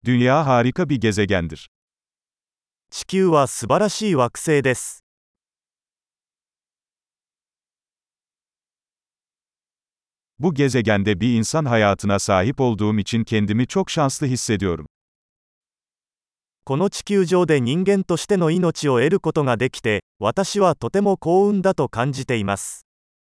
Dünya harika bir gezegendir. 地球は素晴らしい惑星です。 Bu gezegende bir insan hayatına sahip olduğum için kendimi çok şanslı hissediyorum. この地球上で人間としての命を得ることができて、私はとても幸運だと感じています。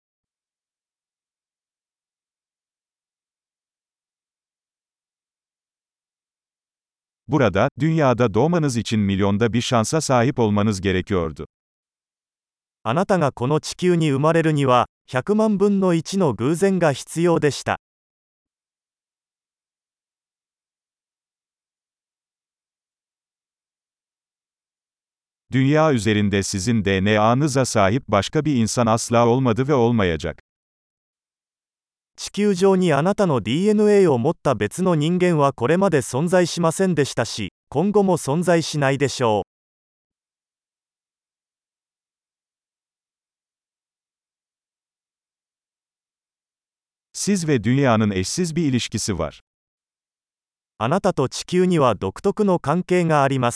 Burada, dünyada doğmanız için milyonda bir şansa sahip olmanız gerekiyordu. あなたがこの地球に生まれるには、100万分の1の偶然が必要でした。 Dünya üzerinde sizin DNA'nıza sahip başka bir insan asla olmadı ve olmayacak. 地球上にあなたの DNA を持った別の人間はこれまで存在しませんでしたし、今後も存在しないでしょう。 Siz ve dünyanın eşsiz bir ilişkisi var. あなたと地球には独特の関係があります。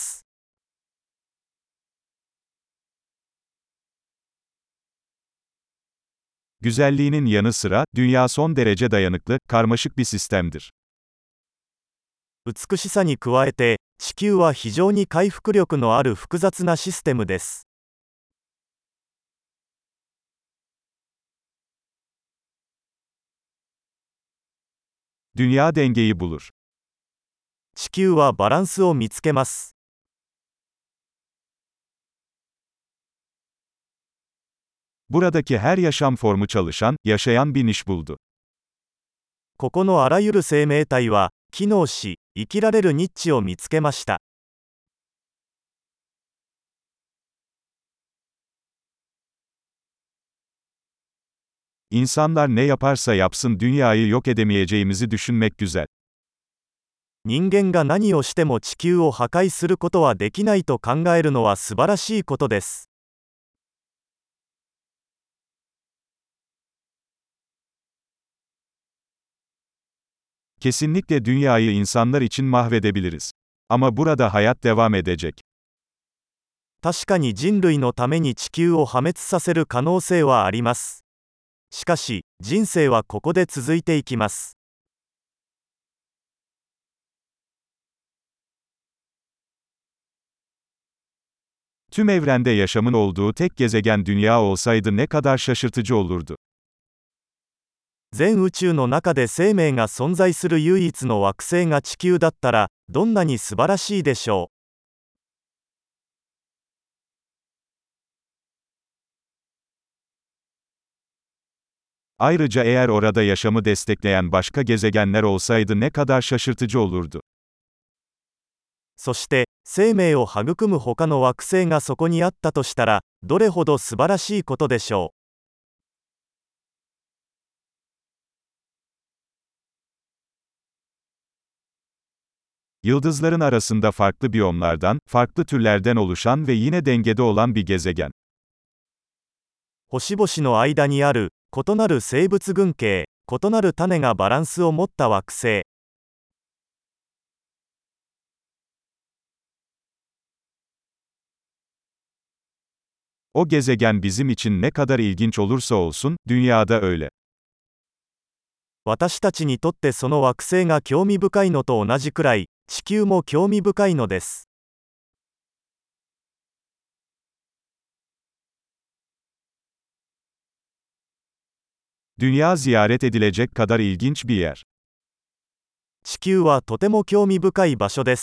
Güzelliğinin yanı sıra, dünya son derece dayanıklı, karmaşık bir sistemdir. 美しさに加えて、地球は非常に回復力のある複雑なシステムです。 Dünya dengeyi bulur. 地球はバランスを見つけます。 Buradaki her yaşam formu çalışan, yaşayan bir niş buldu. ここのあらゆる生命体は、機能し、生きられるニッチを見つけました。 İnsanlar ne yaparsa yapsın dünyayı yok edemeyeceğimizi düşünmek güzel. 人間が何をしても地球を破壊することはできないと考えるのは素晴らしいことです。 Kesinlikle dünyayı insanlar için mahvedebiliriz. Ama burada hayat devam edecek. 確かに人類のために地球を破滅させる可能性はあります。しかし、人生はここで続いていきます。 Tüm evrende yaşamın olduğu tek gezegen dünya olsaydı ne kadar şaşırtıcı olurdu. 全宇宙の中で生命が存在する唯一の惑星が地球だったら、どんなに素晴らしいでしょう。 Ayrıca eğer orada yaşamı destekleyen başka gezegenler olsaydı ne kadar şaşırtıcı olurdu. そして、生命を育む他の惑星がそこにあったとしたら、どれほど素晴らしいことでしょう。 Yıldızların arasında farklı biyomlardan, farklı türlerden oluşan ve yine dengede olan bir gezegen. 星々の間にある、異なる生物群系、異なる種がバランスを持った惑星。 O gezegen bizim için ne kadar ilginç olursa olsun, dünyada öyle. 私たちにとってその惑星が興味深いのと同じくらい、地球も興味深いのです。 Dünya ziyaret edilecek kadar ilginç bir yer. 地球はとても興味深い場所です。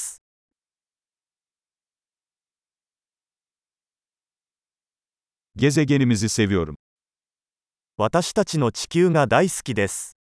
Gezegenimizi seviyorum. 私たちの地球が大好きです。